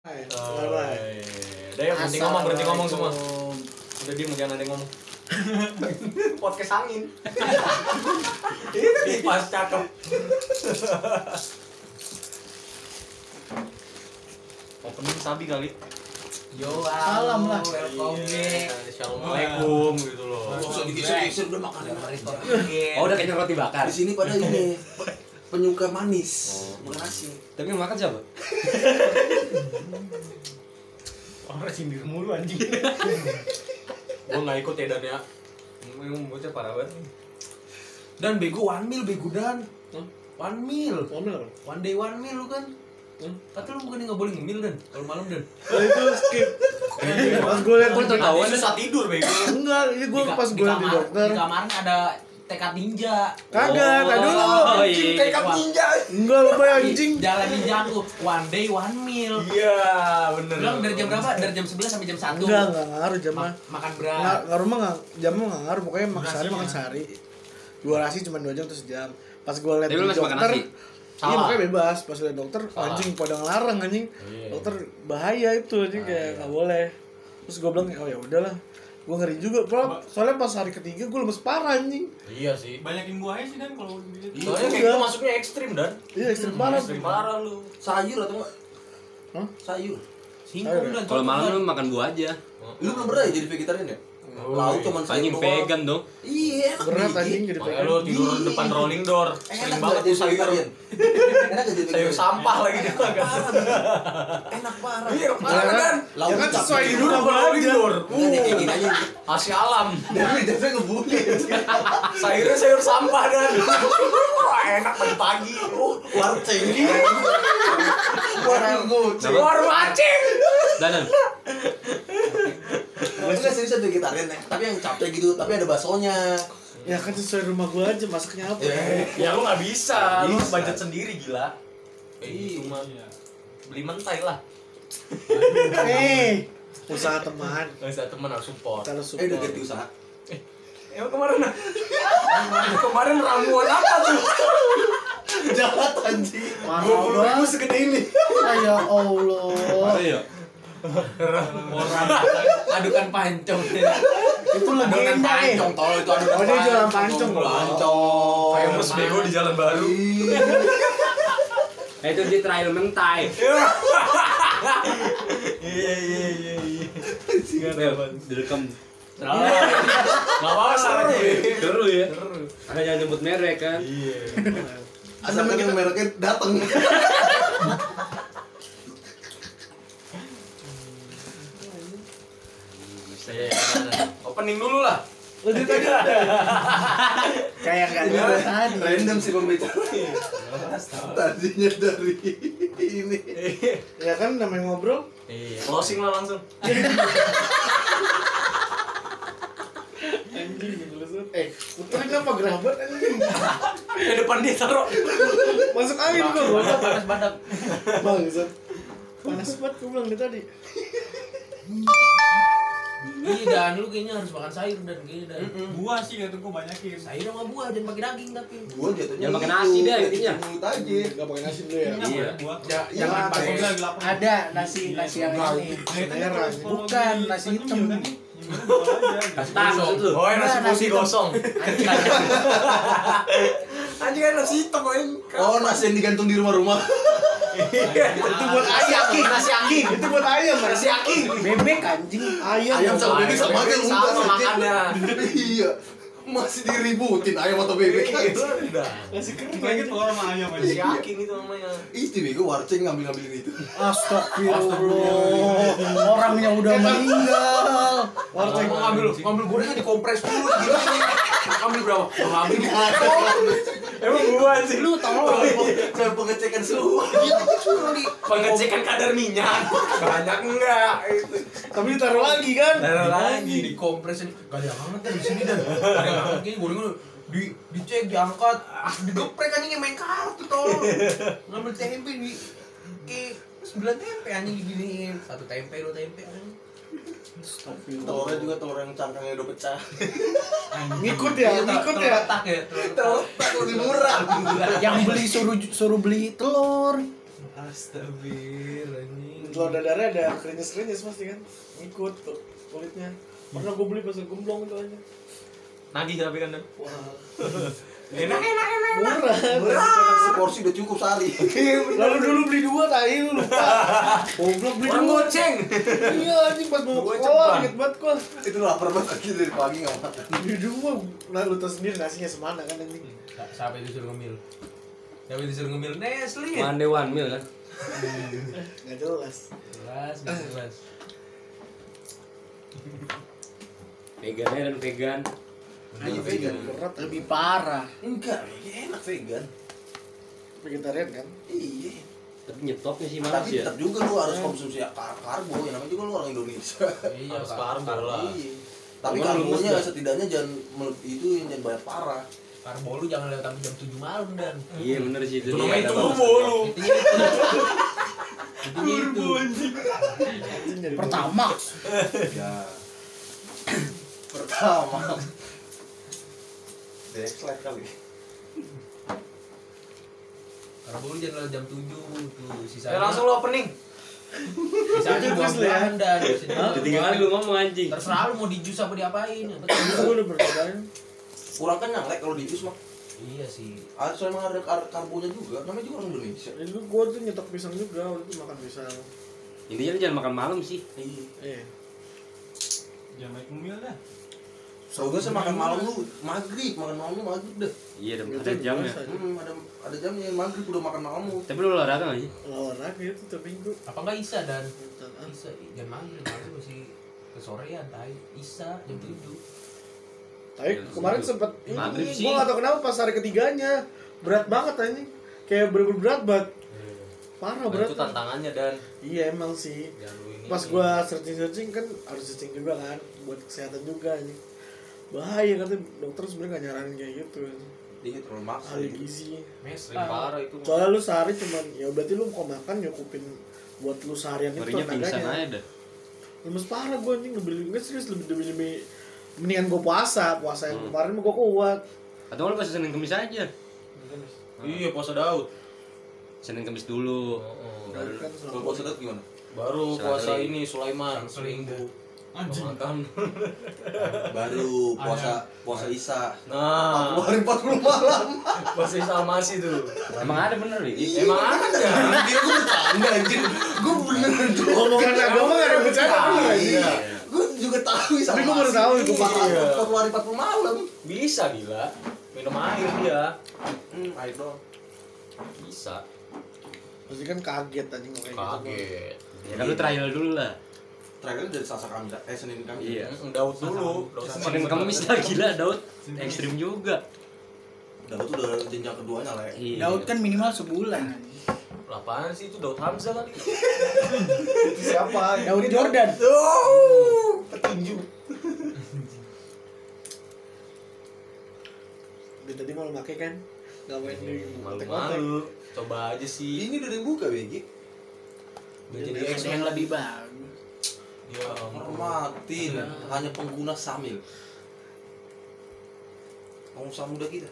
Udah ya, berhenti ngomong semua. Udah diem, jangan ada yang ngomong. Podcast angin. Itu pas cakep. Opening sabi kali. Yo, salam lah. Welcome back. Assalamualaikum gitu loh. Usah digeser-geser udah makan yang Oh, udah kayaknya roti bakar. Di sini pada ini penyuka manis. Makasih. Tapi yang makan siapa? Orang sindir mulu anjing. Gua enggak ikut ya Dan ya. Memang bocah parah banget. Dan bego 1 mil bego Dan. 1 mil. 1 day 1 mil lu kan. Kata lu bukannya enggak boleh ngemil Dan kalau malam Dan. Itu skip. Pas gue liat Ketahuan susah tidur bego. enggak, ini gue pas gue liat di dokter. Di kamarnya ada tekad ninja. Kagak, tadi dulu. Anjing tekad ninja. Enggak lupa ya anjing. Jalan ninja tuh 1 day 1 meal. Iya, bener. Bilang dari jam berapa? Dari jam 11 sampai jam 1. Enggak ngaruh jam mah. Makan Enggak, berat. ngaruh mah jamnya enggak ngaruh, pokoknya makan sehari. Durasi cuma 2 jam atau sejam. Pas gue liat di dokter, iya makanya bebas. Pas liat dokter, anjing pada ngelarang anjing. Dokter bahaya itu anjing kayak enggak boleh. Terus gue bilang, oh ya udahlah. Gue ngeri juga, bro. Soalnya pas hari ketiga gue lemes parah anjing. Iya sih. Banyakin buahnya sih Dan kalau gitu. Soalnya kayak gitu masuknya ekstrim Dan. Iya ekstrim parah. Ekstrim parah lu. Sayur atau enggak? Hah? Sayur. Singkong dan Kalau malam lu makan buah aja. Lu belum pernah ya jadi vegetarian ya? Lauk cuman sayur Anjing doang. vegan dong. Iya, enak Berat dikit. anjing jadi Makanya vegan. lu tidur depan rolling door. Sering Enak banget jadi tuh sayur. vegetarian. Enak gak jadi Sayur vegetarian? sampah lagi dia Enak makan. parah, Bang. Enak parah. Iya, Ya parah kan? kan? Ya kan sesuai di Tidur rumah depan rolling aja. door. Enggak nih kayak gini aja. Asli alam. Dia ngebully. Sayurnya sayur sampah Dan. Wah, enak pagi-pagi. Warceng. Warceng. Warung acing. Danan. Enggak serius vegetarian ya. Tapi yang capek gitu, tapi ada baksonya. Ya kan sesuai rumah gue aja, masaknya apa? Ya lu nggak bisa. Lu Bisa. budget sendiri gila. Iya. Cuma beli mentai lah. Usaha teman. Nggak bisa temen harus support. Kalau Udah support. ganti usaha. Emang kemarin kemarin ramuan apa tuh? Jahat anjing. Parah banget segede ini. Ya Allah. Iya. adukan pancong. Itu Adukan legenda ya. pancong tol itu adukan. Oh dia jualan pancong loh. Pancong. Famous bego di Jalan Baru. Itu di trial mentai. Iya. Direkam. Nggak apa-apa salah aja. Seru ya. Ada yang nyebut merek kan. Iya. Asal kan yang mereknya dateng. Opening dulu lah. Udah tadi udah. Kayak enggak ada tadi. Random sih pembicaranya. Tadinya dari ini. Ya kan namanya ngobrol. Iya. Closing lah langsung. Anjing gitu loh. Putra kenapa gerabat anjing? Ke depan dia taruh. Masuk angin gua. Panas badak. Bangsat. Panas banget gua bilang dari tadi. Iya Dan lu kayaknya harus makan sayur Dan kayaknya Dan. Buah sih kata gua banyakin. Sayur sama buah jangan pakai daging tapi. Gua jatuhnya. Jangan makan nasi deh, intinya. Ngikut aja. Enggak pakai nasi dulu ya. Iya. Buah. Jangan pakai. Ada nasi yang ini. Merah. Bukan nasi hitam. Kasih tahu itu. Oh, nasi Nasi putih hitam. gosong. Anjing kan nasi hitam anjing. Oh, nasi yang digantung di rumah-rumah. Itu buat ayam. Nasi aking. Itu buat ayam. Nasi aking. Bebek anjing. Ayam sama bebek sama aja lu. Sama makannya. Iya. Masih diributin ayam atau bebek. Udah. Nasi kering. Lagi telur sama ayam aja. Nasi aking itu namanya. Itu bego warceng ngambil-ngambilin itu. Astagfirullah. Orangnya udah meninggal. Warteg mau ngambil gorengan dikompres dulu gini. Ngambil berapa? Ngambil Emang gua sih Lu tolong. Saya pengecekan suhu. pengecekan kadar minyak. Banyak enggak itu. Tapi ditaruh lagi kan? Taruh lagi. Dikompresin. Gak ada yang hangat kan di sini Dan. Gak ada yang hangat kayaknya gorengan dicek diangkat. Digeprek anjing main kartu tolong. Ngambil tempe di kayak 9 tempe anjing diginiin. 1 tempe 2 tempe anjing. Telurnya juga telur yang cangkangnya udah pecah. Ngikut ya, ngikut ya. Tak ya. Telur tak lebih murah. Yang beli suruh beli telur. Astagfirullah anjing. Telur dadarnya ada krenyes pasti kan, ngikut tuh kulitnya. Pernah gue beli pas gemblong itu aja. Nagih tapi kan. Wah, Enak. murah. Seporsi udah cukup sehari. Lalu dulu beli 2 tai lu lupa. Goblok beli Orang 2. goceng. Iya anjing pas mau Gua sekolah ceban. dikit banget gua. Itu lapar banget lagi dari pagi nggak makan. Beli 2. Nah lu tau sendiri nasinya semana kan anjing. Siapa itu suruh ngemil? Siapa itu suruh ngemil? Nestle. One day one meal kan. Enggak jelas. Jelas. Vegannya dan vegan. Iya vegan. Berat lebih parah. Enggak, enak vegan. Vegetarian kan? Iya. Tapi nyetopnya sih malas Tapi ya. tetap juga lu harus konsumsi karbo, ya namanya juga lu orang Indonesia. Iya, harus karbo lah. Iya. Tapi Karbo lemes karbonya dah. setidaknya jangan itu yang jangan banyak parah. Karbo lu jangan lewat sampai jam 7 malam dan. Iya bener sih itu. Itu dia. namanya Ada turbo batas. lu. Intinya itu. Anjing jadi Pertama. Ya. Pertama. Dexlet kali. Karbo lu jangan lewat jam 7 tuh. Sisanya. Langsung lo opening. Sisanya buah-buahan dan Ketinggalan lu ngomong anjing. terserah lu mau di jus apa diapain. Yang penting Itu gue udah bercobain. Kurang kenyang lek kalau di jus mah. Iya sih. Soalnya emang ada karbonya juga. Namanya juga orang Indonesia. Jadi gue tuh nyetok pisang juga, waktu itu makan pisang. Intinya lu jangan makan malam sih. Iya. Jangan main umil dah. So gue makan malam lu maghrib, makan malam lu maghrib deh. Iya Itu ada jamnya. biasa. Ada jamnya maghrib udah makan malam lu. Tapi lu olahraga nggak sih? Olahraga itu tiap minggu. Apa enggak Isa dan Ah, Isa jam maghrib masih kesorean tai. Isa jam 7. tapi kemarin sempet Maghrib ini, sih. gue gak tau kenapa pas hari ketiganya berat banget anjing. Kayak bener-bener berat banget. Parah berat. Itu tantangannya dan Iya emang sih. jangan lu ini. Pas gua searching kan harus searching juga kan buat kesehatan juga nih. Bahaya katanya dokter sebenarnya gak nyaranin kayak gitu. Iya terlalu maksa. Ahli gizi. mes sering parah itu. Soalnya lu sehari cuman ya berarti lu kalau makan nyukupin buat lu seharian itu Ngerinya pingsan tenaganya. aja dah. Lemes parah gua anjing lebih serius lebih mendingan gua puasa yang kemarin mah gua kuat. Atau lu pas Senin Kamis aja. Iya, puasa Daud. Senin Kamis dulu. Kan Kalau selama puasa Daud gimana? Baru Selang puasa kali. ini Sulaiman seminggu. Anjing. Makan. Baru puasa Isa. Nah, 40 hari 40 malam. puasa Salmasi tuh. Emang ada bener nih? Emang ada. Dia gue bercanda anjir. Gue beneran tuh. omongan agama gak ada bercanda bener anjing. Iya. Gue juga tahu Isa. Tapi gua baru tahu itu, Pak. 40 hari 40 malam. Bisa gila. Minum air dia. Air doang. Bisa. Pasti kan kaget anjing kayak gitu. Kaget. Ya kan lu trial dulu lah. Terakhir dari Selasa Kamis, Senin Kamis. Iya. Daud dulu. Daud Senin Kamis lah gila Daud. Ekstrim juga. Daud tuh udah jenjang keduanya lah ya. Iya. Daud kan minimal sebulan. Apaan sih itu Daud Hamzah kali? Itu siapa? Daud Jordan. Petinju. Dia tadi mau pakai kan nggak main di kontak-kontak. Malu-malu. Coba aja sih. Ini udah dibuka BG. Udah jadi Ada expert. yang lebih bagus. Ya ampun. Hormatin, hanya pengguna Samil. Pengusaha muda kita.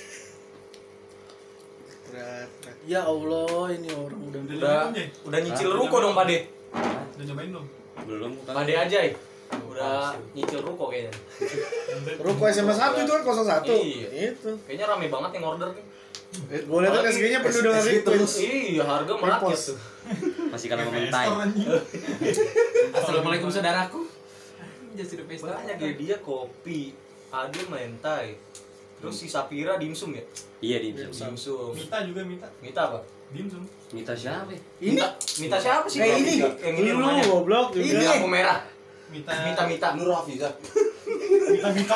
Ya Allah ini orang udah Udah nyicil ruko dong Pade. Udah nyobain belum? Belum kan. Pade aja ya. Udah nyicil ruko kayaknya. Ruko SMA 1 itu kan 01. Iya. Itu. Kayaknya rame banget yang order nih. Gue lihat kan SG-nya penuh dengan SG request. Iya, harga merakyat Repost. tuh. Masih kalau mentai. Assalamualaikum saudaraku. Jadi sudah pesta. Banyak dia kopi, ada mentai. Terus si Sapira dimsum ya? Iya di Dimsum. Mita juga Mita. Mita apa? Dimsum. Mita siapa? Ini Mita siapa sih? Kayak ini. Yang ini Lu rumahnya. goblok juga. Ini lampu merah. Mita. Mita. Nur Hafiza. Mita.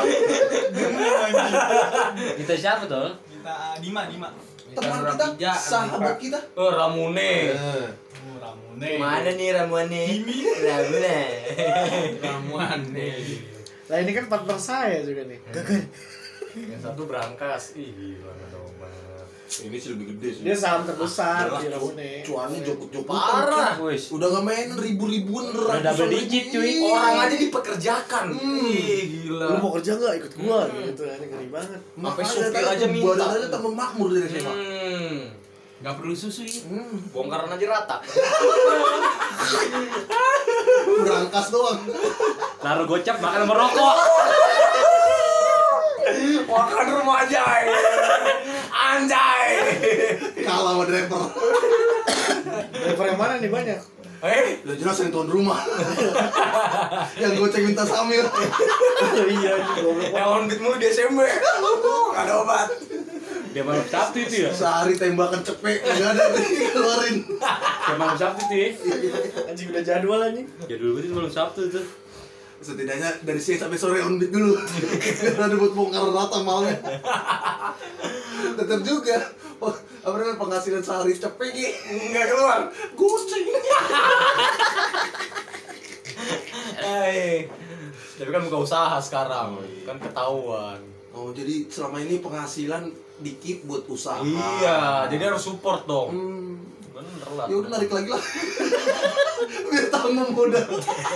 Mita siapa tuh? Mita Dima. Teman kita, sahabat kita. Oh, Ramune. Eh, Oh, Ramune. Mana nih Ramune? Ramune. Ramuan nih. Lah ini kan partner saya juga nih. Yang satu berangkas. Ih, gila dong. ini sih lebih gede sih. Dia saham terbesar Jelas, di Ramune. Cuannya jokut-jokutan. Parah. Wis. Udah nggak main ribu-ribuan Udah double digit, cuy. Orang aja dipekerjakan. Ih, gila. Lu mau kerja nggak ikut gua gitu. Ini ngeri banget. Sampai supir aja minta. Badan aja tambah makmur dari SMA. Nggak perlu susu ya. Bongkaran aja rata. Berangkas doang. Naruh gocap makan merokok. Makan rumah aja. Anjay. Kalah sama driver. Driver yang mana nih banyak? Udah jelas yang tuan rumah. Yang goceng minta samil. Iya, Yang on beat mulu di SMP. Nggak ada obat. Dia malam Sabtu itu ya. Sehari tembakan cepek enggak ada keluarin. Dia malam Sabtu itu ya. anjing udah jadwal anjing. Jadul banget itu malam Sabtu tuh. Setidaknya dari siang sampai sore on beat dulu. Karena ada buat bongkar rata malamnya. Tetap juga. Oh, apa namanya penghasilan sehari cepek nih. Nggak keluar. Goceng. Tapi kan buka usaha sekarang, kan ketahuan. Oh, jadi selama ini penghasilan dikit buat usaha. Iya, jadi harus support dong. Bener lah. Ya udah narik lagi lah. Biar tambah modal.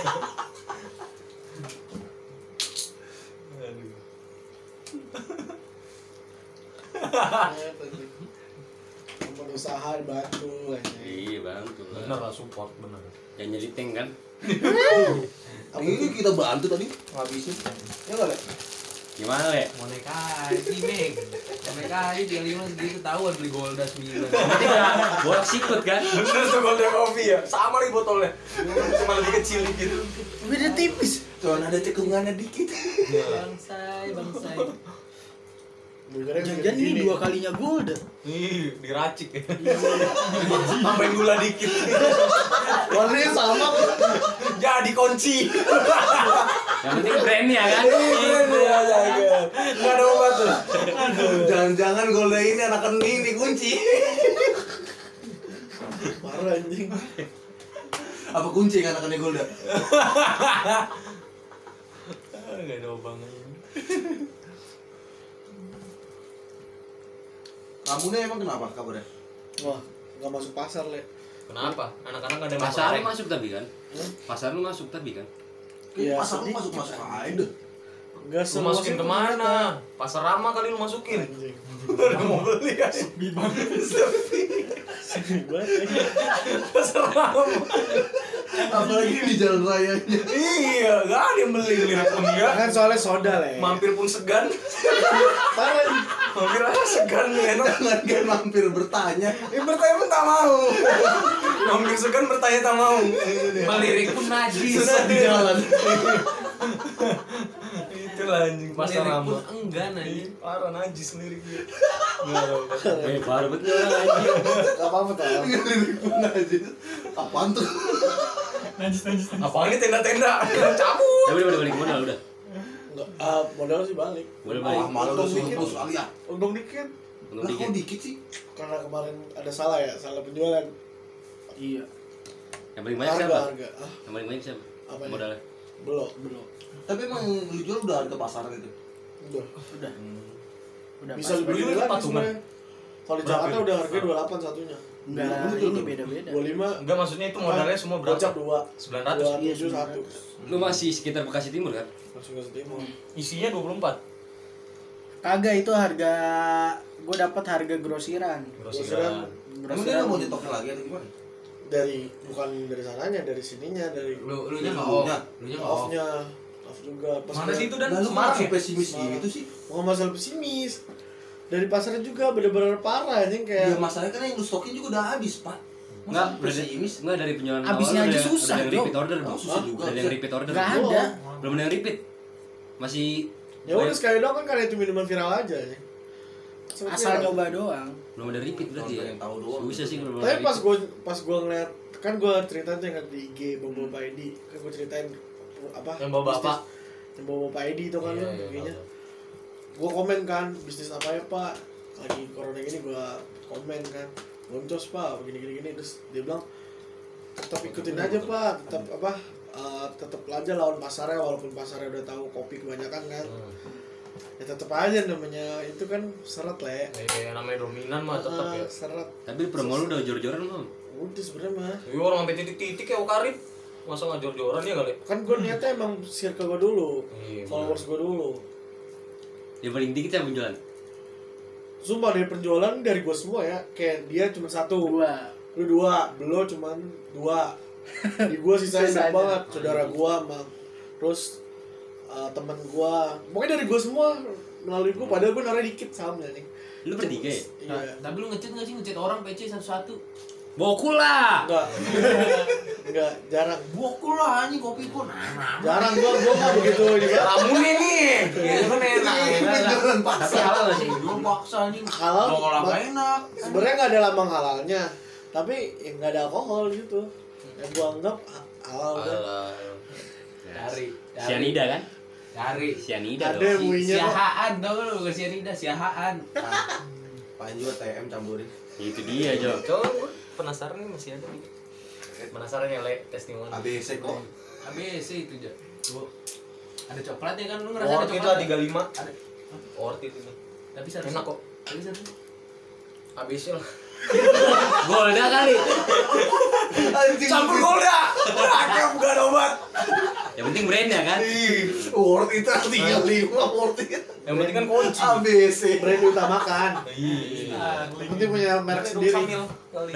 Tempat usaha dibantu anjing. Iya bang, tuh. Bener lah support, bener. Yang jadi tank kan? Ini kita bantu tadi ngabisin. Ya enggak, Le? Gimana le? Mau naik haji, Meg. Mau naik haji, dia 5 segitu tahuan beli Golda 9. Borak sikut kan? Bener tuh Golden Coffee ya, sama nih botolnya. Cuma lebih kecil dikit. Beda tipis. Cuman ada cekungannya dikit. Bangsai. Jangan ini 2 kalinya Golda. Ih, diracik ya. Tambahin gula dikit. Warnanya sama kok. Jadi kunci. Yang penting brandnya kan? Iya, Enggak ada obat tuh. Jangan-jangan Golda ini anakan ini kunci. Parah anjing. Apa kunci yang anakannya Golda? Enggak ada obangannya. Kamunya emang kenapa kabarnya? Wah, enggak masuk pasar, Le. Kenapa? Anak-anak ada Pasar lu masuk tapi kan? Pasar lu masuk tapi kan? Iya, Pasar lu sedikit. masuk aja deh. Enggak Lu masukin kemana? Pasar Rama kali lu masukin. Anjing. Udah mau beli kan? Pasar Rama. Apalagi di jalan rayanya. Iya, gak ada yang beli lirik pun ya. Kan soalnya soda, Le. Mampir pun segan. Parah anjing. Mampir aja segan enak. Jangan kan mampir bertanya. Bertanya pun tak mau. Mampir segan bertanya tak mau. Melirik pun najis. Susah di jalan. Itulah anjing Pasar Melirik Rama. pun enggan anjing. Parah najis liriknya. Baru betul anjing. Enggak apa-apa tau. Lirik pun aja. Apaan tuh? Apaan ini tenda-tenda? Cabut. Ya udah balik modal udah. Enggak, modal sih balik. Boleh Ah, balik. malu udah suruh sekali ya. Untung dikit. Belum Lah kok dikit. dikit sih? Karena kemarin ada salah ya, salah penjualan. Iya. Yang paling banyak Harga, siapa? harga. Ah, Yang paling banyak siapa? Apanya? Modalnya. belum. Tapi emang lu jual udah harga pasar gitu. Udah. Pas. Bisa lebih Beli gede lagi patungan. sebenarnya. Kalau di Jakarta udah harganya 28 satunya. Enggak, ini beda-beda. 25 Enggak, maksudnya itu modalnya semua berapa? gocap 2. 900. 27 satu. Lu masih sekitar Bekasi Timur kan? Langsung ke Timur. Isinya 24. Kagak, itu harga gue dapat harga grosiran. Grosiran. Emang dia nggak mau nyetoknya lagi atau gimana? Bukan dari sananya, dari sininya, dari Lu nya enggak Lu off. nya. Lu nya enggak off. off-nya. Off juga. Pas Mana sih itu dan Nah, lu Semarang masih ya? pesimis Semarang. gitu sih? Bukan masalah pesimis. Dari pasarnya juga bener-bener parah anjing kayak Ya masalahnya kan yang lu stokin juga udah habis, Pak. Enggak, Masa pesimis? enggak dari penjualan Abisnya awal aja udah- susah, udah yang Bro. repeat order, Bro. Oh, susah juga. Udah yang repeat order. Enggak Belum. ada. Belum ada yang repeat. Masih ya udah sekali doang kan karena itu minuman viral aja ya. Asal coba doang. belum ada repeat berarti ya. Pengen tahu doang. Susah sih kalau belum Tapi ada pas gua ngeliat kan gua ceritain tuh yang di IG Bapak ID kan gua ceritain apa Yang bawa bapak. bisnis- yang Bapak ID itu kan Iya, lo iya, kayaknya gua komen kan bisnis apa ya Pak lagi corona gini gua komen kan boncos Pak begini terus dia bilang tetap ikutin aja Pak tetap apa tetap aja lawan pasarnya walaupun pasarnya udah tahu kopi kebanyakan kan ya tetap aja namanya itu kan seret lah ya. Kayak namanya dominan mah tetap ya. Seret Tapi promo lu udah jor-joran belum? udah sebenarnya mah Iya orang sampai titik-titik ya Okarip. Masa nggak jor-joran ya kali? kan gue niatnya emang circle gue dulu Iya, followers gue dulu Yang paling dikit siapa penjualan? Sumpah dari penjualan dari gue semua ya. Kayak dia cuma 1, lu 2, Belo cuma 2. Di gue sisanya banyak banget. Saudara gue sama terus teman gue. Pokoknya dari gue semua melalui gue. Padahal gue naruh dikit sahamnya nih. Lu bertiga ya? Iya. Tapi lu ngechat nggak sih ngechat orang PC satu-satu? Bokul lah. Enggak, jarang. Bokul lah anjing kopi pun. Jarang gue enggak begitu ini. Ramunya nih. Gitu kan enak. Jualan Tapi paksa. halal gak sih? Dulu paksa anjing. Halal. Kalau apa enak. Sebenarnya enggak ada lambang halalnya. Tapi ya enggak ada alkohol gitu. Yang gue anggap halal kan. Cari. Sianida kan? Cari. Sianida Ada dong. muinya kok. Siahaan tau lu bukan sianida, siahaan. Panji juga TM campurin. Itu dia, Jo. Coba gue penasaran nih masih ada nih. Penasaran ya, Le, testimoni. ABC kok. ABC itu aja. Tuh. Ada coklatnya kan lu ngerasa ada Worth it coklat. lah 35. Ada. Worth it itu. Tapi satu. Enak kok. Tapi satu. ABC lah. Golda kali. Anjing. Campur Golda. Ada bukan obat. Yang penting brandnya kan. Worth it 35 worth it. Yang penting kan kunci. ABC. Brand diutamakan. Iya. Yang penting punya merek sendiri. Samil kali.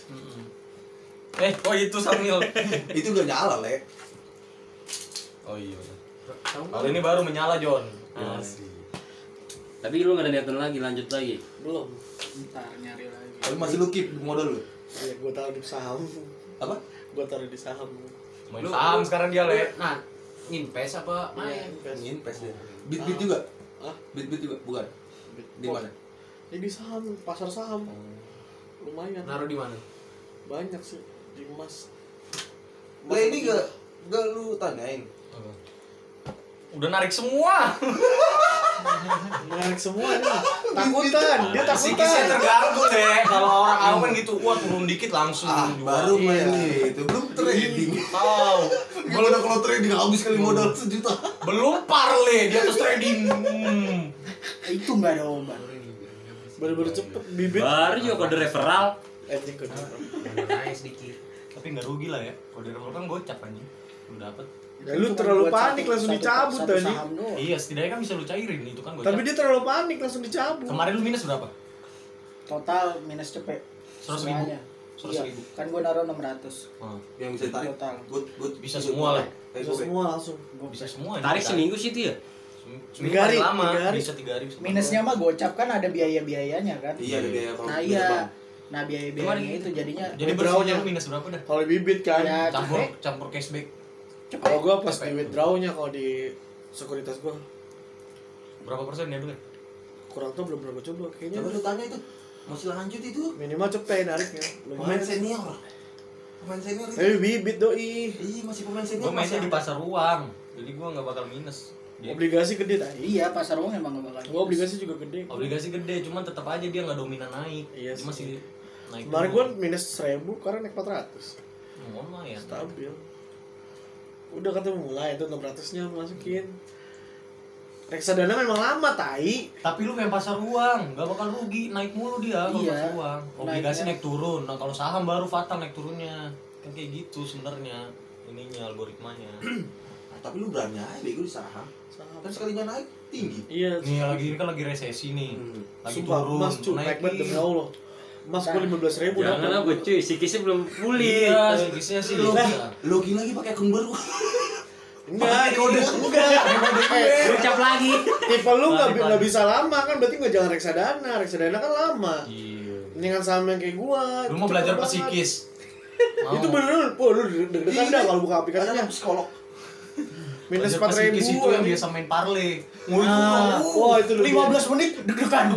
Oh itu Samil. Itu gak nyala, Le. Oh iya. Tahu Kalau ini baru menyala, John. Tapi lu gak ada niatan lagi, lanjut lagi. Belum. Ntar nyari lagi. Tapi masih lu keep modal lu. Ya gue taruh di saham. Apa? Gue taruh di saham. Main saham sekarang dia, Le. Nah, nginpes apa main? Ingin pes deh. Beat juga. Hah? Beat juga bukan. Di mana? Ya di saham, pasar saham. Lumayan. Naruh di mana? Banyak sih di emas. Lah ini gak lu tanyain. Udah narik semua. Menarik semua nih. Takutan, dia Psikisnya takutan. terganggu deh. Kalau orang awam kan gitu, wah turun dikit langsung. Baru main itu belum trading. Tahu. Gimana kalau trading habis kali modal 1 juta. Belum parle di atas trading. Itu nggak ada obat. Baru-baru cepet bibit. Baru juga kode referral. Anjing kode. Naik sedikit. Tapi nggak rugi lah ya. Kalau di referral kan gocap anjing. Lu dapet. Ya lu terlalu panik langsung dicabut tadi. tadi. Iya, setidaknya kan bisa lu cairin itu kan gocap. Tapi dia terlalu panik langsung dicabut. Kemarin lu minus berapa? Total minus cepet. 100.000. Semuanya. 100.000. Iya, kan gua naruh 600. Yang bisa tarik. Total. Good. Bisa semua lah. Bisa semua langsung. Gua Bisa semua. Tarik seminggu sih itu ya? Seminggu 3 hari, paling lama. 3 hari. Bisa 3 hari. bisa Minusnya mah gocap kan ada biaya-biayanya kan. Iya, ada biaya kalau Nah beda iya. bank. Nah biaya-biayanya itu jadinya Jadi Withdrawnya. bersihnya lu minus berapa dah? Kalau di bibit kan. Ya, Campur cashback. Kalau gua pas di withdrawnya kalau di sekuritas gua Berapa persen ya dulu? kurang tuh belum pernah gua coba kayaknya. Coba lu tanya itu. Masih lanjut itu. Minimal cepet nariknya. Pemain senior. Pemain senior itu. Tapi bibit doi. Iya, masih pemain senior. Gue mainnya di pasar uang, jadi gue nggak bakal minus. Obligasi gede tadi. iya pasar uang emang nggak bakal. Gua obligasi juga gede. Obligasi gede, cuman tetap aja dia nggak dominan naik. Iya Dia sih. masih naik. Kemarin gua minus 1000 karena naik 400. lumayan. Stabil. Udah katanya mulai tuh 600-nya masukin. Reksadana memang lama tai. Tapi lu main pasar uang, nggak bakal rugi, naik mulu dia kalau Iya. pasar uang. Obligasi Naiknya. naik turun. Nah kalau saham baru fatal naik turunnya. Kan kayak gitu sebenarnya ininya algoritmanya. Nah, tapi lu berani aja bego di saham. Kan sekalinya naik tinggi. Iya. Nih lagi ini kan lagi resesi nih, lagi Sumpah, turun, emas cuy, naik banget demi Allah. Emas gua 15.000 Jangan lah gue cuy, sikisnya belum pulih. Iya, sikisnya sih. Login lagi pakai akun baru. Enggak, enggak. Ucap lagi. Tipe lu nggak bisa lama kan berarti nggak jangan reksadana. Reksadana kan lama. Iya. Mendingan saham yang kayak gua. Lu mau cepet belajar banget. psikis? Itu bener, lu deg-degan dah kalau buka aplikasinya. Ada psikolog. Minus Belajar 4.000. psikis itu yang biasa main parle. Nah, wah itu 15 menit deg-degan.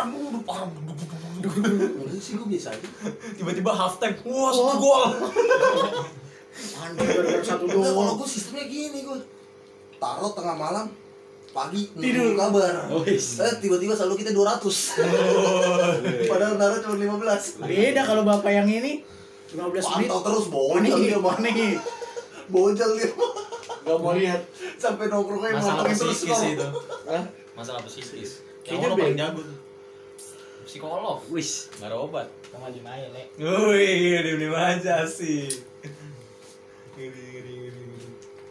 Enggak sih gua biasa aja. Tiba-tiba half time, wah 1 gol. Anjir gara-gara satu Enggak, kalau doang. gua sistemnya gini gua. Taruh tengah malam, pagi tidur kabar. Tiba-tiba selalu kita 200. Padahal naruh cuma 15. Beda kalau bapak yang ini 15 menit. Pantau terus bojol dia mah. Nih. Bojol dia. Gak mau lihat. Sampai nongkrongnya Masalah mantengin terus psikis kok. itu. Hah? Masalah psikis. Yang Kayaknya orang paling beda. jago tuh. Psikolog. Wis. Nggak ada obat. Kamu aja main, Le. Wih, dia aja sih.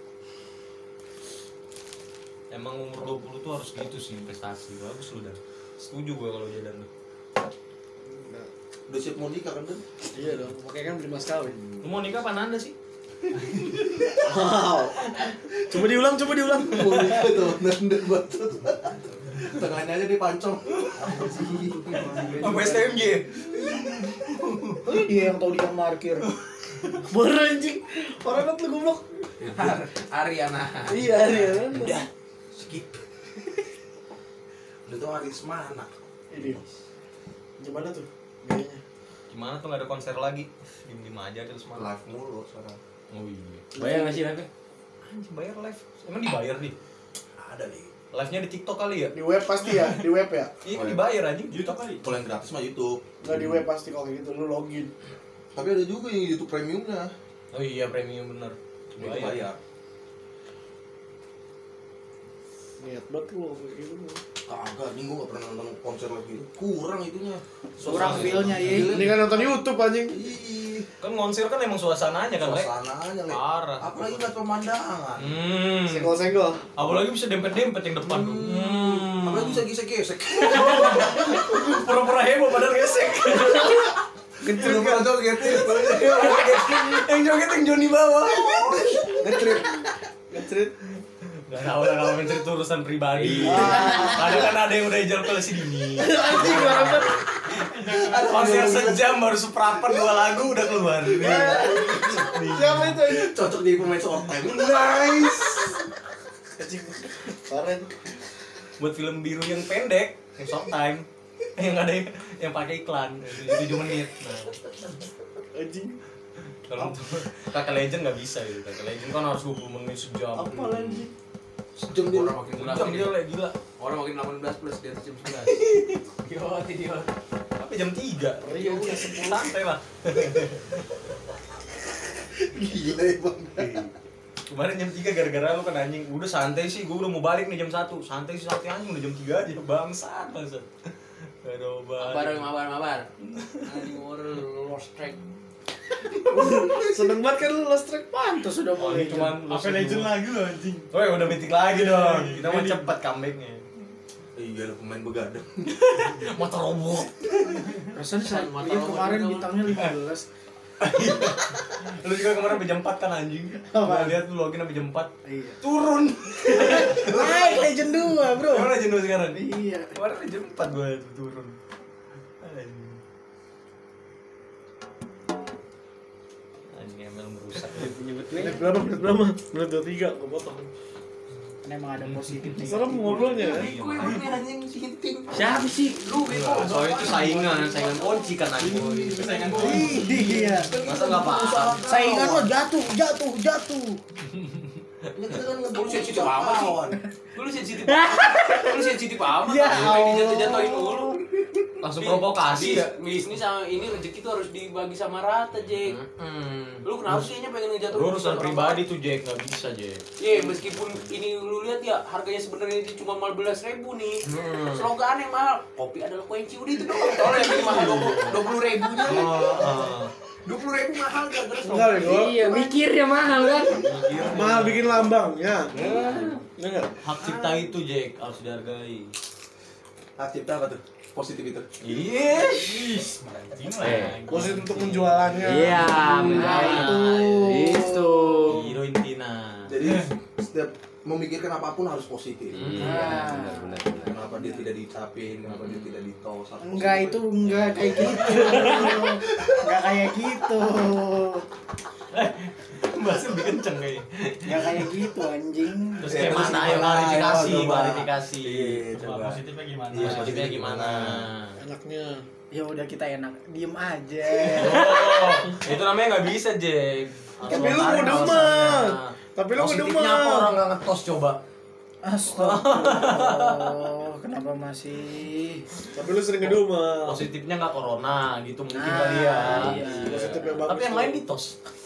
Emang umur 20 tuh harus gitu sih investasi. Bagus lu dah. Setuju gue kalau Jadan tuh. Udah siap mau nikah kan, Dan? Iya dong, makanya kan beli mas kawin. Lu mau nikah apa Nanda sih? Wow. Coba diulang. Mau nikah tuh, Nanda bacot. Tengahnya aja dipancong. Apa STMJ? Oh iya, dia yang tahu dia parkir. Baru anjing. Orang banget lu goblok. Ariana. Iya, iya. Udah, skip. Udah tuh hari semana. Ini. Gimana tuh? Gayanya. Gimana tuh nggak ada konser lagi? Diem aja terus malah. Live mulu sekarang. Oh iya. Bayar nggak sih live? Anjing bayar live. Emang dibayar nih? Ada nih. Live-nya di TikTok kali ya? Di web pasti ya, di web ya. Iya dibayar anjing. YouTube kali. Kalau yang gratis mah YouTube. Enggak di web pasti kalau kayak gitu lu login. Tapi ada juga yang YouTube premiumnya. Oh iya premium bener. Itu bayar. Niat banget lu kayak gitu. Kagak, nih gua gak pernah nonton konser lagi. Kurang itunya. Kurang feel-nya ya. Ini kan nonton YouTube anjing. Ih, Kan konser kan emang suasananya kan, Le? suasananya, Le. Parah. Apalagi ngeliat pemandangan. Senggol-senggol. Apalagi bisa dempet-dempet yang depan. Apalagi bisa gesek-gesek. Pura-pura heboh padahal gesek. Kecil kan joget. Yang joget yang Joni bawah. Ngetrit. Gak tau lah kalau mencari urusan pribadi. Kadang kan ada yang udah ijal ke si Dini. Konser sejam baru seperempat 2 lagu udah keluar. Siapa itu anjing? Cocok jadi pemain short time. Nice. Anjing. Keren. Buat film biru yang pendek, yang short time, yang ada yang pakai iklan 7 menit. Nah, Anjing. kalau untuk Kakak Legend nggak bisa gitu. Kakak Legend kan harus 20 menit sejam. Apa lagi? Sejam dia. Orang makin gila. Sejam dia Le, gila. Orang makin 18 plus di atas jam 11. Idiot. Tapi jam 3. Iya, udah 10 santai lah. Gila ya, Bang. Kemarin jam 3 gara-gara lu kan anjing. Udah santai sih, gua udah mau balik nih jam 1. Santai anjing udah jam 3 aja. Bangsat. Aduh, Mabar. Anjing orang lost track. Seneng banget kan lu lost track pantas sudah mulai. Cuman Apa legend lagi lo anjing. Oh ya udah mythic lagi dong. Kita mau cepet comebacknya. Iya, lu pemain begadang. Motor robot. Rasanya dia kemarin bintangnya 15. Lu juga kemarin sampai jam 4 kan anjing. Gua lihat lu login sampai jam 4. Iya. Turun. Naik Legend 2, Bro. Gimana Legend lu sekarang? Iya. Kemarin jam 4 gua turun. Anjing ML merusak. Menit berapa? Menit 23, gua potong. Kan emang ada positif nih. Serem ngobrolnya ya. Gue anjing sinting. Siapa sih? Lu bego. Soalnya itu saingan kunci kan anjing. Saingan Iya. Masa nggak paham? Saingan lo jatuh. Ini kita kan Lu sensitif amat sih. Lu sensitif. Lu sensitif amat. Ya Sampai dijatuh-jatuhin mulu. Langsung provokasi ya. Bisnis sama ini rezeki tuh harus dibagi sama rata, Jack. Lu kenapa sih kayaknya pengen ngejatuhin Lu urusan orang pribadi tuh Jack, nggak bisa Jack. Iya, meskipun ini lu lihat ya harganya sebenarnya itu cuma 15.000 nih. Slogannya mahal. Kopi adalah kunci, udah itu doang. Kalau yang ini mahal 20.000-nya. 20.000 mahal gara-gara Enggak deh, gua. Iya, mikirnya mahal kan. Mahal bikin lambangnya. Enggak. Hak cipta itu Jack harus dihargai. Cipta apa tuh? Positif itu. Iya, anjing lah. Positif untuk penjualannya. Iya, itu. Hero Intina. Jadi setiap memikirkan apapun harus positif. Benar. Kenapa dia tidak dicapin, kenapa dia tidak ditos? harus Enggak, positif. itu enggak kayak gitu. Enggak kayak gitu. Bahasa lebih kenceng kayaknya. Enggak kayak gitu anjing. Terus kayak mana? Ayo klarifikasi, coba. klarifikasi. Iya, Coba coba. positifnya gimana? Iya, positifnya gimana? Enaknya. Ya udah kita enak diem aja. Oh, itu namanya nggak bisa Jack. Harus Tapi lu lontarin mau demen. alasannya. Tapi lu Positifnya demen. apa orang nggak ngetos coba? Astagfirullah, kenapa masih? Tapi lu sering ngedumel. Positifnya nggak corona gitu mungkin Nah, kali ya. iya. Positif yang bagus. Tapi yang lain ditos.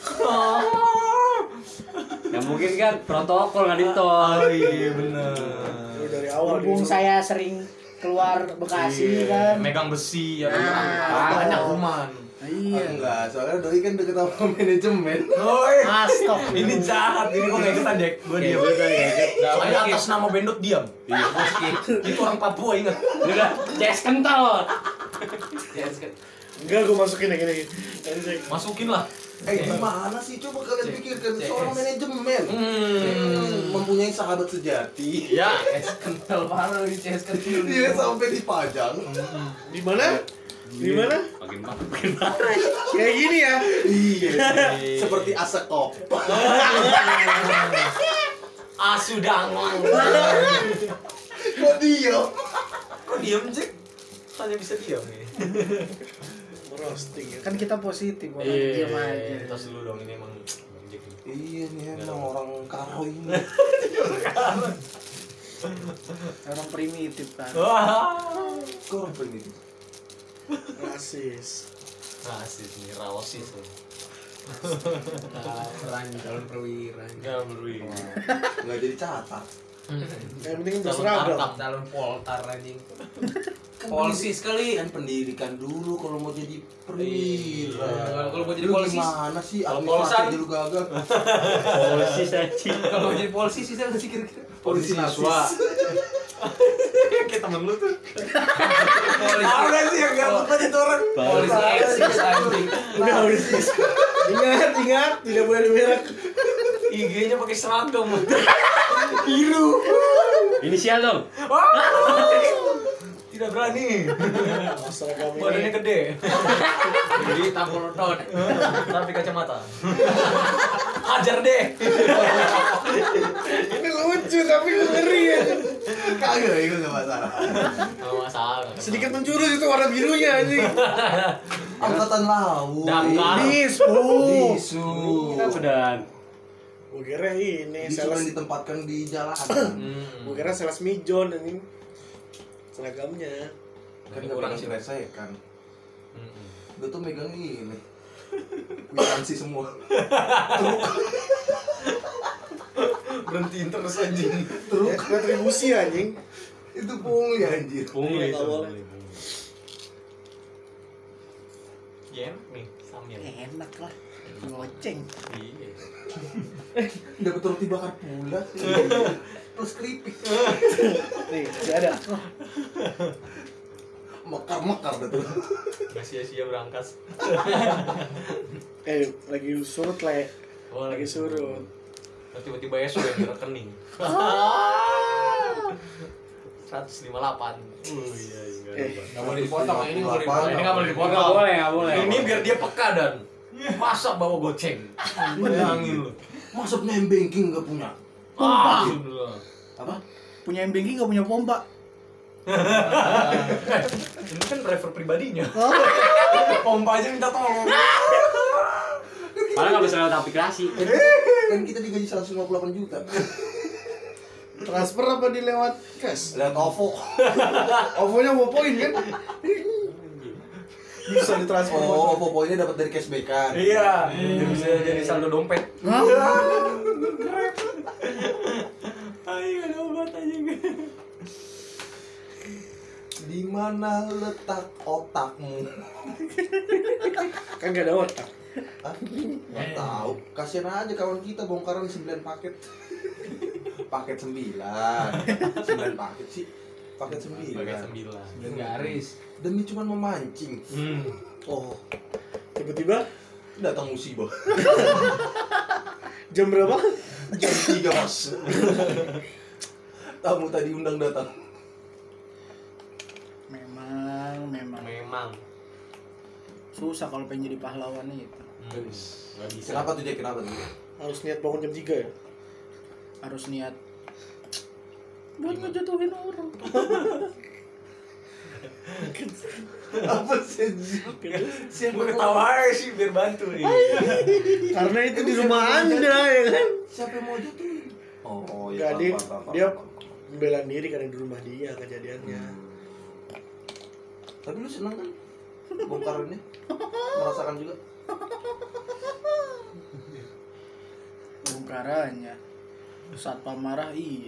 Ya mungkin kan protokol nggak ditol. Oh iya bener. Lu dari awal Mumpung disuruh. saya sering keluar Bekasi Iya, kan. megang besi ya kan. Nah, Banyak kuman. Iya. Enggak, soalnya Doi kan deket sama manajemen. Astagfirullah. Ini jahat, ini gua nggak ikutan, Jack. Gua diam. Saya atas nama Bendot diam. Iya, gua skip. Itu orang Papua, ingat. Udah, CS kental. Enggak, gue masukin yang ini. Masukin lah. Gimana sih? Coba kalian pikirkan seorang manajemen mempunyai sahabat sejati. Ya, CS kental parah lagi CS kecil. Dia sampai dipajang. Di mana? Di mana? Makin marah. Kayak gini ya. Iya. Seperti asekop. Asu dangon. Kok diam? Kok diem, Jack? Hanya bisa diam nih. Roasting ya. Kan kita positif, orang Iya, diam aja. tos dulu dong, ini emang Bang Jack nih. Iya nih emang orang karo ini. Orang primitif kan. Wah. Kok orang ini? Rasis. Rasis nih, raosis tuh. Calon perwira. Enggak berwi. Nggak jadi catat. Yang penting berseragam. Calon poltar anjing. Kan Polisi sekali. Kan pendidikan dulu kalau mau jadi perwira. Kalau mau jadi Lu polisi, gimana sih? Kalau Administrasi polsan? dulu gagal. Polisi saja. kalau mau jadi polisi sih saya masih kira-kira. Polisi siswa. Kayak temen lu tuh. Polisi. Apa sih yang gabut aja tuh orang? Polisi eksis anjing. Udah. Ingat, tidak boleh dimerek. IG-nya pakai seragam. Biru. Inisial dong. Tidak berani. Seragam Badannya ini. gede. Jadi tampol dot. Tapi kacamata. Hajar deh. Ini lucu tapi ngeri ya. Kagak, itu nggak masalah. Enggak masalah. Sedikit menjurus itu warna birunya anjing. Angkatan laut. Damkar. Disu. Disu. Kenapa dan? Gue kira ini Disu yang sales. ditempatkan di jalan. Gue kira sales mijon anjing. Seragamnya. Kan nggak pernah diselesaikan. Gue tuh megang ini. Kwitansi semua. Berhentiin terus anjing. Truk. Retribusi anjing. Itu pungli anjir. Pungli Nggak itu. boleh. Ya, nih, sambil. Enak lah. Ngoceng. Iya. Dapat roti bakar pula. Terus keripik. Nih, masih ada. Mekar-mekar dah tuh. Nggak sia-sia berangkas. Lagi surut le. Oh, Lagi surut. Tiba-tiba esok yang di rekening. 158. Iya, Nggak boleh dipotong, ini nggak boleh dipotong. Ini nggak boleh Oh, nggak boleh, nggak boleh. Ini biar dia peka dan masa bawa goceng. Bayangin lu. Masa punya banking nggak punya? Alhamdulillah. Apa? Punya banking gak punya pompa. Ini kan driver pribadinya. Pompa aja minta tolong. Padahal nggak bisa lewat aplikasi. Kan kita digaji 158 juta. Transfer apa di lewat cash? Lihat OVO. OVO-nya mau poin kan? Bisa ditransfer. Oh, OVO poinnya dapat dari cashback-an. Iya, dia bisa jadi saldo dompet. Ayo ada obat aja. Di mana letak otakmu? Kan gak ada otak. Hah? Nggak tahu. Kasian aja kawan kita bongkaran 9 paket. Paket 9. 9 paket sih. Paket 9. Pakai 9. Garis. Demi cuman memancing. Oh, Tiba-tiba datang musibah. jam berapa? Jam 3, Mas. Tamu tadi undang datang. Memang susah kalau pengen jadi pahlawan itu. Nggak bisa. Kenapa tuh Jack? Kenapa tuh? Harus niat bangun jam 3 ya? Harus niat buat ngejatuhin orang. Apa sih? Siapa ketawa aja sih biar bantu nih. Karena itu di rumah Anda ya kan? Siapa yang mau jatuhin? Oh, Enggak, ya. dia membela diri karena di rumah dia kejadiannya. Tapi lu seneng kan? Bongkarannya? Merasakan juga? Bongkarannya saat pamarah iya.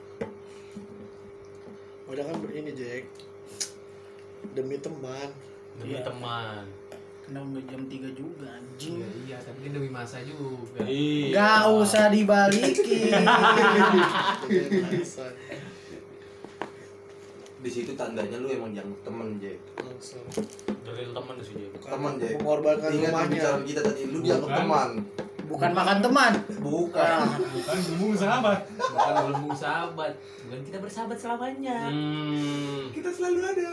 Udah kan ini Jack, demi teman Demi Iya. teman. Kenapa nggak jam 3 juga anjing? Iya, tapi kan demi masa juga. Iya. Gak usah dibalikin. Di situ tandanya lu emang yang temen, Jack. Dari teman sih dia. Temen, Jack. Mengorbankan Ingat rumahnya. pembicaraan kita tadi, lu dianggap teman. Bukan makan teman. Bukan. Bukan gembung sahabat. Bukan gelembung sahabat, bukan kita bersahabat selamanya. Kita selalu ada.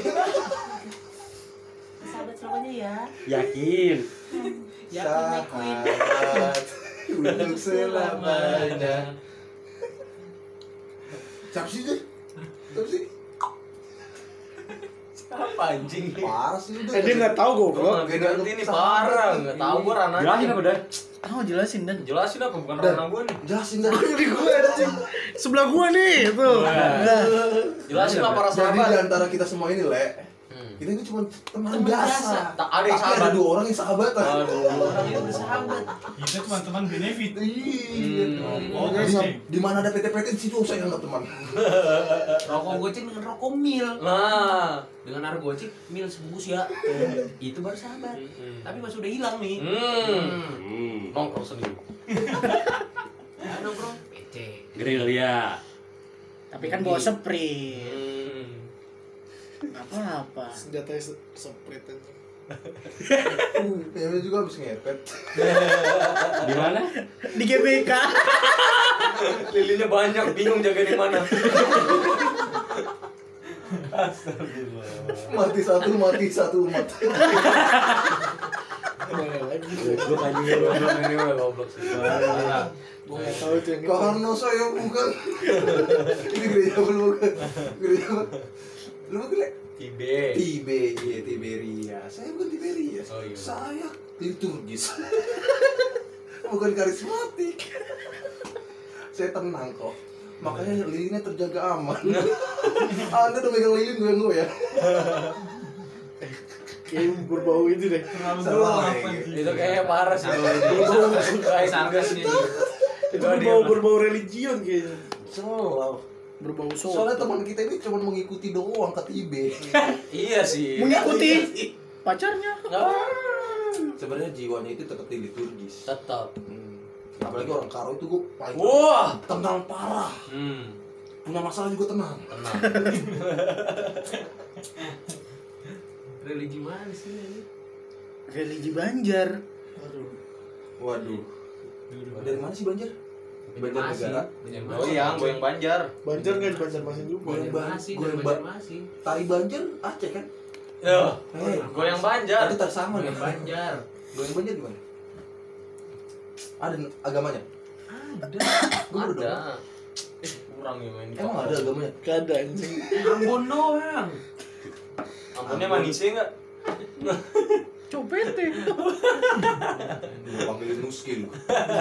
Sahabat selamanya ya. Yakin. Yakin my queen. Sahabat untuk selamanya. Siapa sih, Jack? Siapa sih? Apa anjing? Parah sih udah. Dia nggak tahu Gua goblok. nggak ngerti ini parah, nggak tahu gua ranahnya. Jelasin apa Dan? Oh jelasin dan. Jelasin apa bukan ranah gua nih. Jelasin dari Jadi gue anjing. Sebelah gua nih, tuh. Jelasin lah para Jadi sahabat. di antara kita semua ini, Le, kita ini cuma teman biasa. Tak ada yang Tapi sahabat. ada 2 orang yang sahabatan. Orang yang bersahabat. Kita cuma teman benefit. Iya. Oh, Di mana ada PT-PT di situ saya anggap teman. Rokok goceng dengan rokok mil. Nah, Dengan harga goceng mil sebungkus ya. Itu baru sahabat. Tapi pas udah hilang nih. nongkrong sendiri. Ya, nongkrong PC. Gerilya. Tapi kan bawa sprint. Gak apa-apa. Senjatanya seprit aja. Kayaknya juga habis ngepet. Di mana? Di GBK. Lilinnya banyak, bingung jaga di mana. Mati satu umat. Goblok anjing. Ini udah goblok sih. Parah. Gue nggak tahu itu yang itu. Karena saya bukan. Ini gereja bukan. Gereja apa? Lu bukan, Le? Tibe. Tiberia. Saya bukan Tiberia. Oh, iya. Saya liturgis. Bukan karismatik. Saya tenang kok. Makanya lilinnya terjaga aman. Anda udah megang lilin goyang-goyang. Kayak berbau itu deh. Salah. Itu kayaknya parah sih. Kayak Sarkas sargas nih. Itu berbau religion kayaknya. Salah. Berbau Soalnya soto. teman kita ini cuma mengikuti doang ke Tibe. Iya sih. Mengikuti pacarnya. Sebenarnya jiwanya itu tetap di liturgis. Tetap. Apalagi orang Karo itu gue paling Wah. tenang parah. Punya masalah juga tenang. Tenang. Religi mana sih ini? Religi Banjar. Waduh. Dari mana sih Banjar? Banjarnegara. Goyang Banjar. Banjar nggak di Banjarmasin juga. Banjarmasin, dari Banjarmasin. Tari Banjar Aceh kan? Ya. Hei, Goyang Banjar. Tadi sama nih. Banjar. Goyang Banjar gimana? Ada agamanya? Ada. Gue baru dengar. Ada. Kurang ya main. Emang ada agamanya? Gak ada anjing. Ambon doang. Ampunnya manisnya enggak? Copete. Gue panggilin Nuski lu.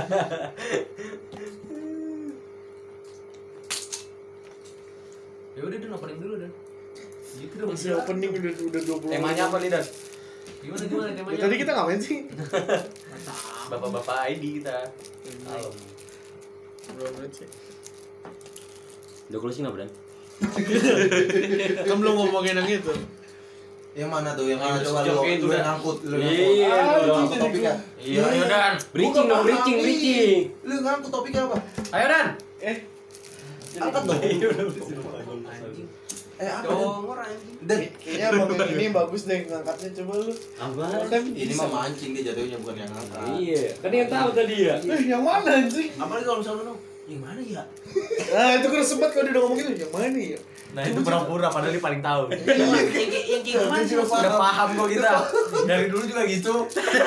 Ya udah Dan opening dulu Dan. Gitu dong. Masih opening udah 20. Temanya apa nih, Dan? Gimana Ya, temanya? tadi kita ngapain sih? Bapak-bapak ID kita. Halo. Berapa menit sih? Udah closing apa Dan? Kan belum ngomongin yang itu. Yang mana tuh? Yang mana? Udah Coba sejam lu kayak itu lu dah. ngangkut. Lu Iya, ngangkut. lu Ngangkut topiknya. Iya, ayo Dan. Breaching dong, breaching. Lu ngangkut topiknya apa? Ayo Dan. Angkat dong. Anjing. Apa? Dongor anjing. Dan Kayaknya abang yang ini bagus deh ngangkatnya, coba lu. Apa? ini mah mancing dia jatuhnya bukan yang angkat. Iya, kan yang tahu tadi ya. Yang mana anjing? Apalagi kalau misalnya lu yang mana ya? Nah itu kan sempat kalau dia udah ngomong gitu, yang mana ya? Nah, itu pura-pura padahal dia paling tahu. Yang kayak gimana sih? Udah paham kok kita. Dari dulu juga gitu.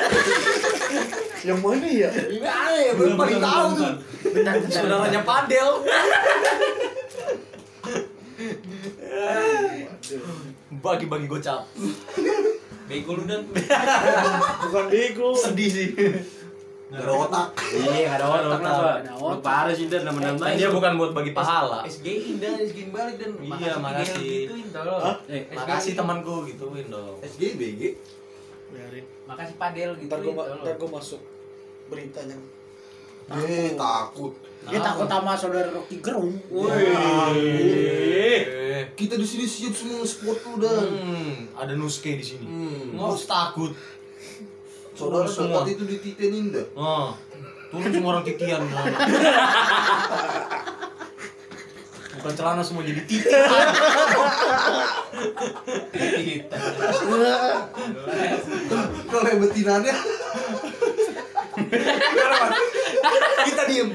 Yang mana ya? Gimana ya? Belum paling tahu tuh. Saudaranya Padel. Bagi-bagi gocap. Bego lu Dan. Bukan bego. Sedih sih. Gak ada otak. Iya, ada otak apa? Lu parah sih Dan nama-nama. Dia bukan buat bagi pahala. SGI Dan, SGI balik Dan. Iya, makasih. Gituin tolong. Makasih temanku gituin dong. SGBG. Biarin. Makasih Padel gitu. Ntar gua masuk beritanya. Takut. Dia takut sama saudara Rocky Gerung. Kita di sini siap semua sport lu dan. Ada Nuske di sini. Nggak usah takut. Saudara semua. sempat itu dititenin dah. Turun semua orang titian. Bukan celana semua jadi titian. Kalau yang betinanya Kita diem.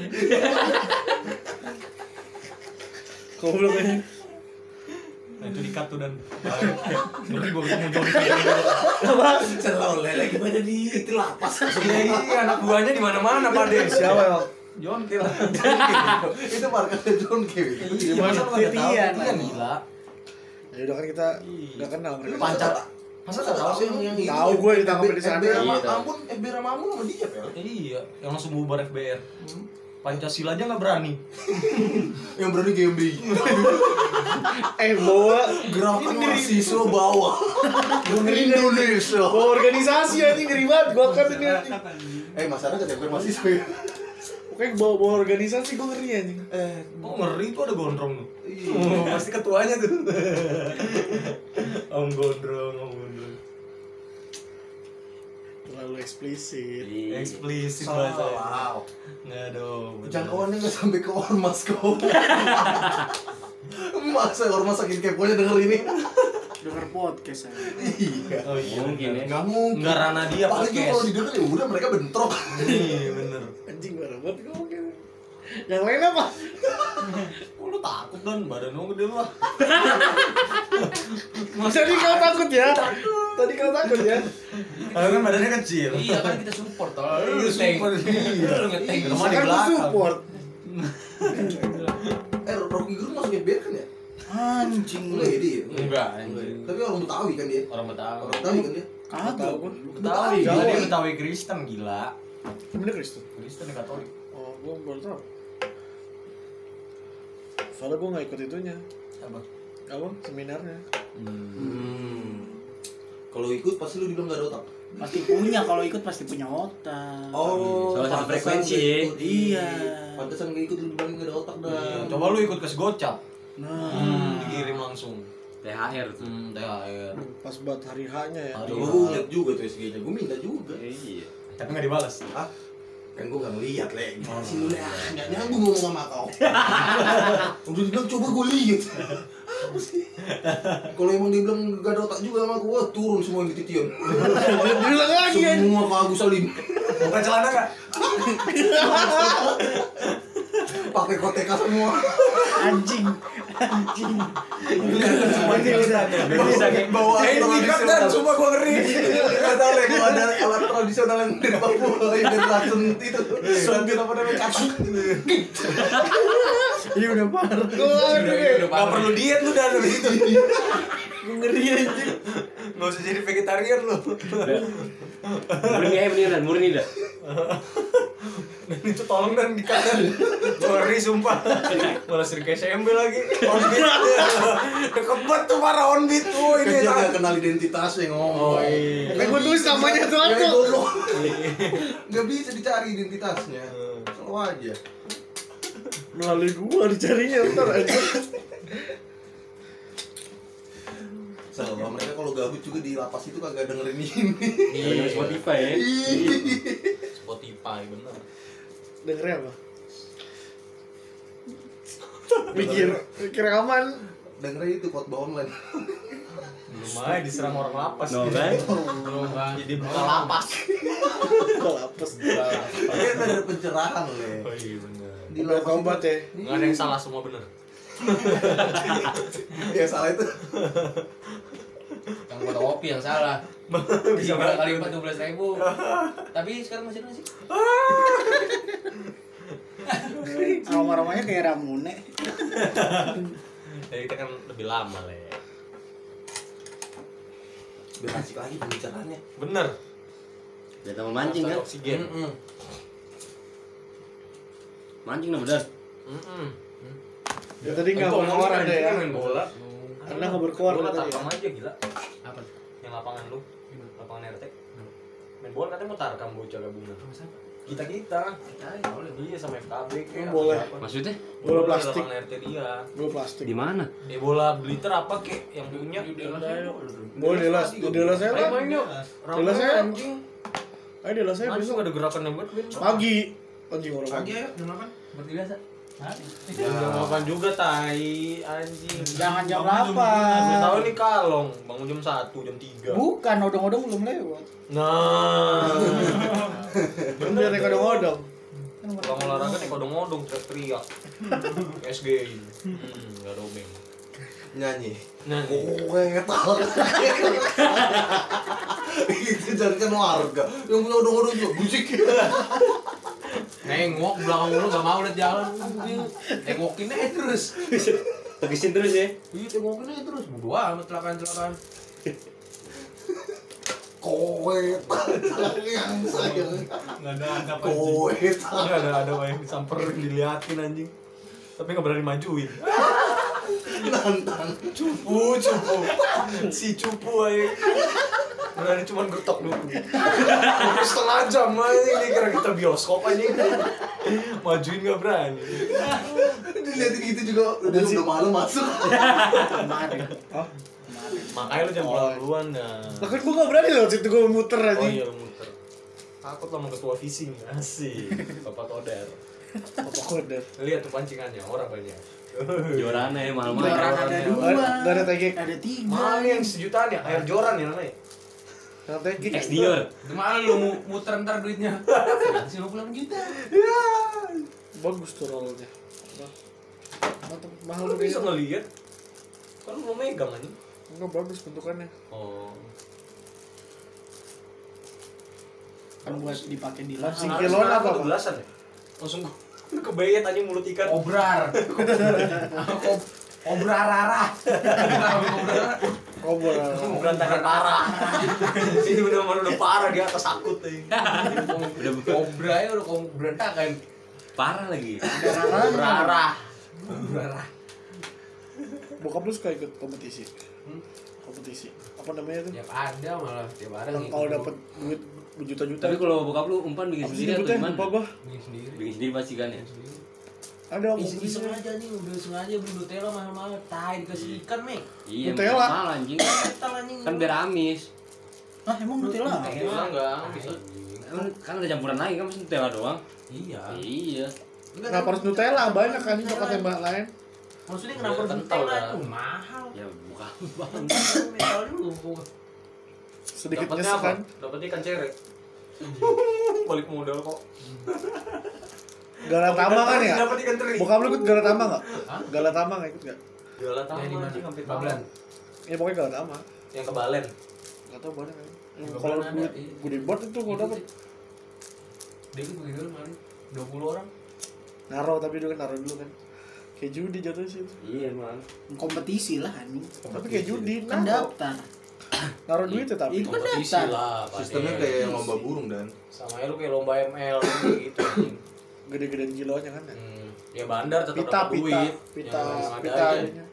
Goblok ini. Nah itu di-cut tuh dan. Nanti gua mau jauh di selalu lagi pada di itu lapas. Iya, anak buahnya di mana-mana Pade. Siapa ya? John Kill. Itu markasnya John Kevin. Iya, masa lu nggak tahu? Titian. Titian gila. Ya udah kan kita udah kenal mereka. Pancat. Masa nggak tahu sih yang Tahu gue ditangkap di sana. FBR Iya, tahu. Ampun, FBR sama Amun sama dia, Pel. Iya, yang langsung bubar FBR. Pancasila aja nggak berani. Yang berani GMBI. Bawa Gerakan mahasiswa bawah. Indonesia. bawa organisasi ya, ini ngeri banget. Gua kan ini. Masyarakat FBR mahasiswa ya. Pokoknya bawa organisasi gue ngeri anjing. Oh ngeri tuh ada gondrong tuh. Iya. Pasti ketuanya tuh. Om gondrong. Terlalu eksplisit. Eksplisit Salah. bahasa. Nggak dong. Jangkauannya nggak sampai ke ormas kau. Masa ormas saking keponya denger ini? Dengar podcast saya. Iya. Oh iya. Mungkin ya. Nggak mungkin. Nggak ranah dia Paling juga podcast. kalau didengar ya udah mereka bentrok. Iya bener. Anjing parah banget gue mungkin. Yang lain apa? Oh, lu takut dan badan lu gede lu ah. Tadi kau takut ya? Tadi kau takut ya? Kalau kan badannya kecil. Iya kan kita support toh. Lu support. Lu ngeteng. Rumah di Kan gue belakang. support. Rocky Gerung masuk FBR kan ya? Anjing. Enggak ya dia? Enggak. Tapi orang Betawi kan dia? Orang Betawi. Orang Betawi kan dia? Kagak. Betawi. Jawa. Dia Betawi Kristen gila. Bener Kristen. Kristen ya Katolik. Oh, gue baru tau. Soalnya gue gak ikut itunya. Apa? Seminarnya. Kalau ikut pasti lu dibilang gak ada otak. Pasti punya, kalau ikut pasti punya otak. Oh, Salah satu pantesan frekuensi. gak ikut. Iya. Pantesan gak ikut lu dibilang gak ada otak dah. Coba lu ikut ke Gocap. Nah, Dikirim langsung. THR tuh. THR. Pas buat hari H-nya ya. Coba lu liat juga tuh SG-nya, gue minta juga. Iya. Tapi nggak dibalas. Ah, kan gue gak ngeliat le. Sini lu le, gak nyambung ngomong sama kau. Udah dibilang coba gue liat. Apa sih? Kalau emang dia bilang gak ada otak juga sama gue, turun semua yang di titian. Bilang lagi ya. Semua ke Agus Salim. Buka celana nggak? Pakai koteka semua. anjing. Anjing. Bisa kayak bawa tradisional. Cuma gua ngeri. Gak tau le, kalau ada alat tradisional yang dari Papua, yang dari racun itu. Suntit apa namanya, kasut. Iya udah parah. Gak perlu diet lu dan dari situ. Gue ngeri anjing. Gak usah jadi vegetarian lu. Murni aja beneran, murni dah. Dan itu tolong dan dikatakan ngeri sumpah. Malah sering kayak SMB lagi. Onbit. Deket banget tuh parah onbit. Oh Kan ini dia gak kenal identitasnya ngomong. Kan gue tulis namanya tuh Ya aku. goblok. Gak bisa dicari identitasnya. Selalu aja. Melalui gua dicarinya ntar aja. Selalu mereka kalau gabut juga di lapas itu kagak dengerin ini. Iya, Spotify ya. Spotify bener. Dengernya apa? Mikir aman. Dengerin itu khotbah online. Belum aja diserang orang lapas. No kan? Belum jadi buka lapas. Kalau apes. Dia ada pencerahan le. Oh iya bener. Di Udah lapas tobat ya. Nggak ada yang salah, semua bener. Ya salah itu. Yang fotokopi yang salah. Bisa 3 kali 14.000. Tapi sekarang masih nasi. Aroma-aromanya kayak ramune. Jadi kita kan lebih lama le. Biar asik lagi pembicaraannya. Bener. Udah tambah mancing kan? Oksigen. Mancing dah bener. Ya tadi nggak berkoar ada ya. Main bola. Karena nggak berkoar Bola tadi ya. tapang aja gila. Apa? Yang lapangan lu, lapangan RT. Main bola katanya mau tarkam bocah gabungan. Kita iya sama FKB kayak Boleh. apa. Maksudnya? Bola plastik. Lapangan RT dia. Bola plastik. Di mana? Bola bliter apa kek yang punya Bola Delas, Delas saya Ayo lah. main yuk. Delas saya. Anjing. Ayo Delas saya Langsung besok ada gerakan yang buat pagi. Anjing orang Pagi pagi. ayo, jam 8. Seperti biasa. Jam 8 juga tai anjing. Jangan jam Udah 8. tahu nih kalong, bangun jam 1, jam 3. Bukan, odong-odong belum lewat. Nah. Bener nih kadang-kadang. Kalau olahraga nih kodong-odong teriak-teriak. SG ini. Enggak domeng. Nyanyi. Nah, Kowe tahu. Itu jangan warga. Yang punya odong-odong juga musik. Nengok belakang lu enggak mau lihat jalan. Tengokin aja terus. Tegesin terus ya. Iya, tengokin aja terus. Bodo amat celakaan-celakaan. Kowe yang sayang. Nggak ada adab aja. Kowe enggak ada yang disamperin, diliatin anjing. Tapi enggak berani majuin. nantang. Cupu. Si cupu aja. Berani cuman gertok dulu. Setengah jam aja ini kira kita bioskop aja. Majuin enggak berani. Dilihatin gitu juga udah malu masuk. Kemarin. Makanya lu jangan pulang duluan dah. Lah kan gua enggak berani loh situ gua muter aja. Oh iya lu muter. Takut sama ketua vising. Asik. Bapak Toder. Apa kode? Lihat tuh pancingannya, orang banyak. Joran ya malam-malam. Joran ada 2. Enggak ada tegek. Ada 3. Mana yang sejutaan ya? Air joran ya namanya? Ada tegek. Ex Dior. Itu mana lu muter ntar duitnya? 50 juta. Bagus tuh rollnya. Mantap, mahal Lu tuh bisa kayaknya. ngeliat? Kan lu mau megang aja. Enggak bagus bentukannya. Oh. Kan buat dipakai di Langsung lahan. kiloan apa, Bang? Belasan ya? Langsung kebayat aja mulut ikan. Obrar. Obrarara. Kobor. Berantakan parah. Ini udah parah di atas akut nih. Obra ya udah berantakan. Parah lagi. Berarah. Obrarara. Bokap lu suka ikut kompetisi? Kompetisi. Apa namanya tuh? Tiap ada malah, tiap ada Yang gitu. kalau dapat duit berjuta-juta. Tapi kalau bokap lu umpan bikin apa sih sendiri atau nyebutnya? gimana? Lupa gua. Bikin sendiri. Bikin sendiri pasti kan ya. Ada Iseng kompetisinya. aja nih, udah sengaja beli Nutella mahal-mahal. Tai dikasih ikan, Mek. Iya, Nutella. mahal anjing. Nutella anjing. Kan biar amis. Ah, emang Nutella? Nutella enggak bisa. Kan ada campuran lain kan mesti Nutella doang. Iya. Iya. Kenapa harus Nutella? Banyak kan coklat yang lain. Maksudnya kenapa Biar kental, Nutella kan? itu mahal? Ya bukan bang. Metal dulu. Sedikit Dapatnya nyesek apa? kan. Dapatnya ikan cere. Balik modal kok. Galatama kan ya? Dapat ikan teri. Bokap lu ikut Galatama enggak? Galatama enggak ikut enggak? Jualan Yang di tahu mana? anjing hampir Bablan. Ya pokoknya Galatama. Yang ke Balen. Enggak tahu banyak kan. Bablan Kalau ada, duit iya. gede banget itu kalau dapat. Dia ikut begitu kemarin. 20 orang. Naro tapi dulu kan naro dulu kan. Kayak judi jatuh sih itu. Iya emang. Kompetisi lah anjing. Tapi kayak judi Kan naro. daftar. Naro duit ya tapi. Itu kan Kompetisi daftar. lah. Pak. Sistemnya kayak yang lomba burung dan. Sama ya lu kayak lomba ML gitu anjing. Gede-gedean kilonya kan ya. Ya bandar tetap Pita dapat pita duit. pita Yang ada pita aja. ininya.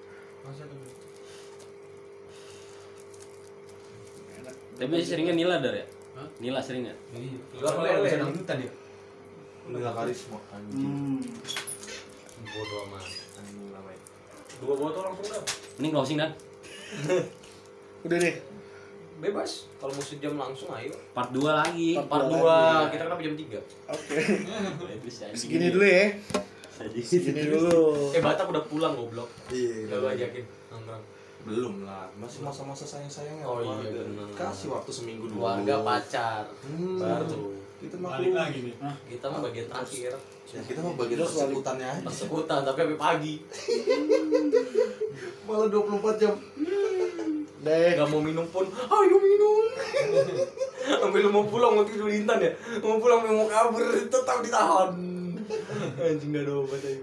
Enak. Tapi seringnya Nila dar ya? Hah? Nila sering ya? Iya. Gila meleleh. Bisa dangdutan dia. Nggak karisma anjing. Bodo amat. Anjing namanya. 2 botol langsung dah. Ini closing dan Udah deh. Bebas. Kalau mau sejam langsung ayo. part 2 lagi. Part Part 2. lagi. Kita kenapa jam 3? Oke. Bisa aja. Segini dulu ya. Segini dulu. Batak udah pulang goblok. Iya. Enggak lu ajakin nongkrong. Belum lah, masih masa-masa sayang-sayangnya. Oh iya, keluarga. benar. Kasih waktu seminggu dulu. Keluarga pacar. Baru. Kita mah Balik lagi nih. Kita mah bagian terakhir. Ya, kita mah bagian Terus balik. persekutannya aja. Persekutan tapi sampai pagi. Malah 24 jam. Deh. Gak mau minum pun, ayo minum. Sampai lu mau pulang waktu itu di Intan ya. Mau pulang mau kabur tetap ditahan. Anjing gak ada obat aja.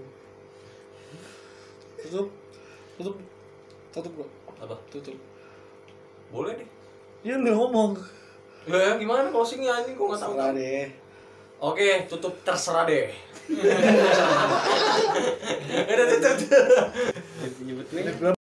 Tutup. Tutup. Tutup gua. Apa? Tutup. Boleh deh. Ya lu ngomong. Ya gimana closingnya anjing gua enggak tahu. Serah deh. Oke, tutup terserah deh. Udah tutup. Nyebut gue.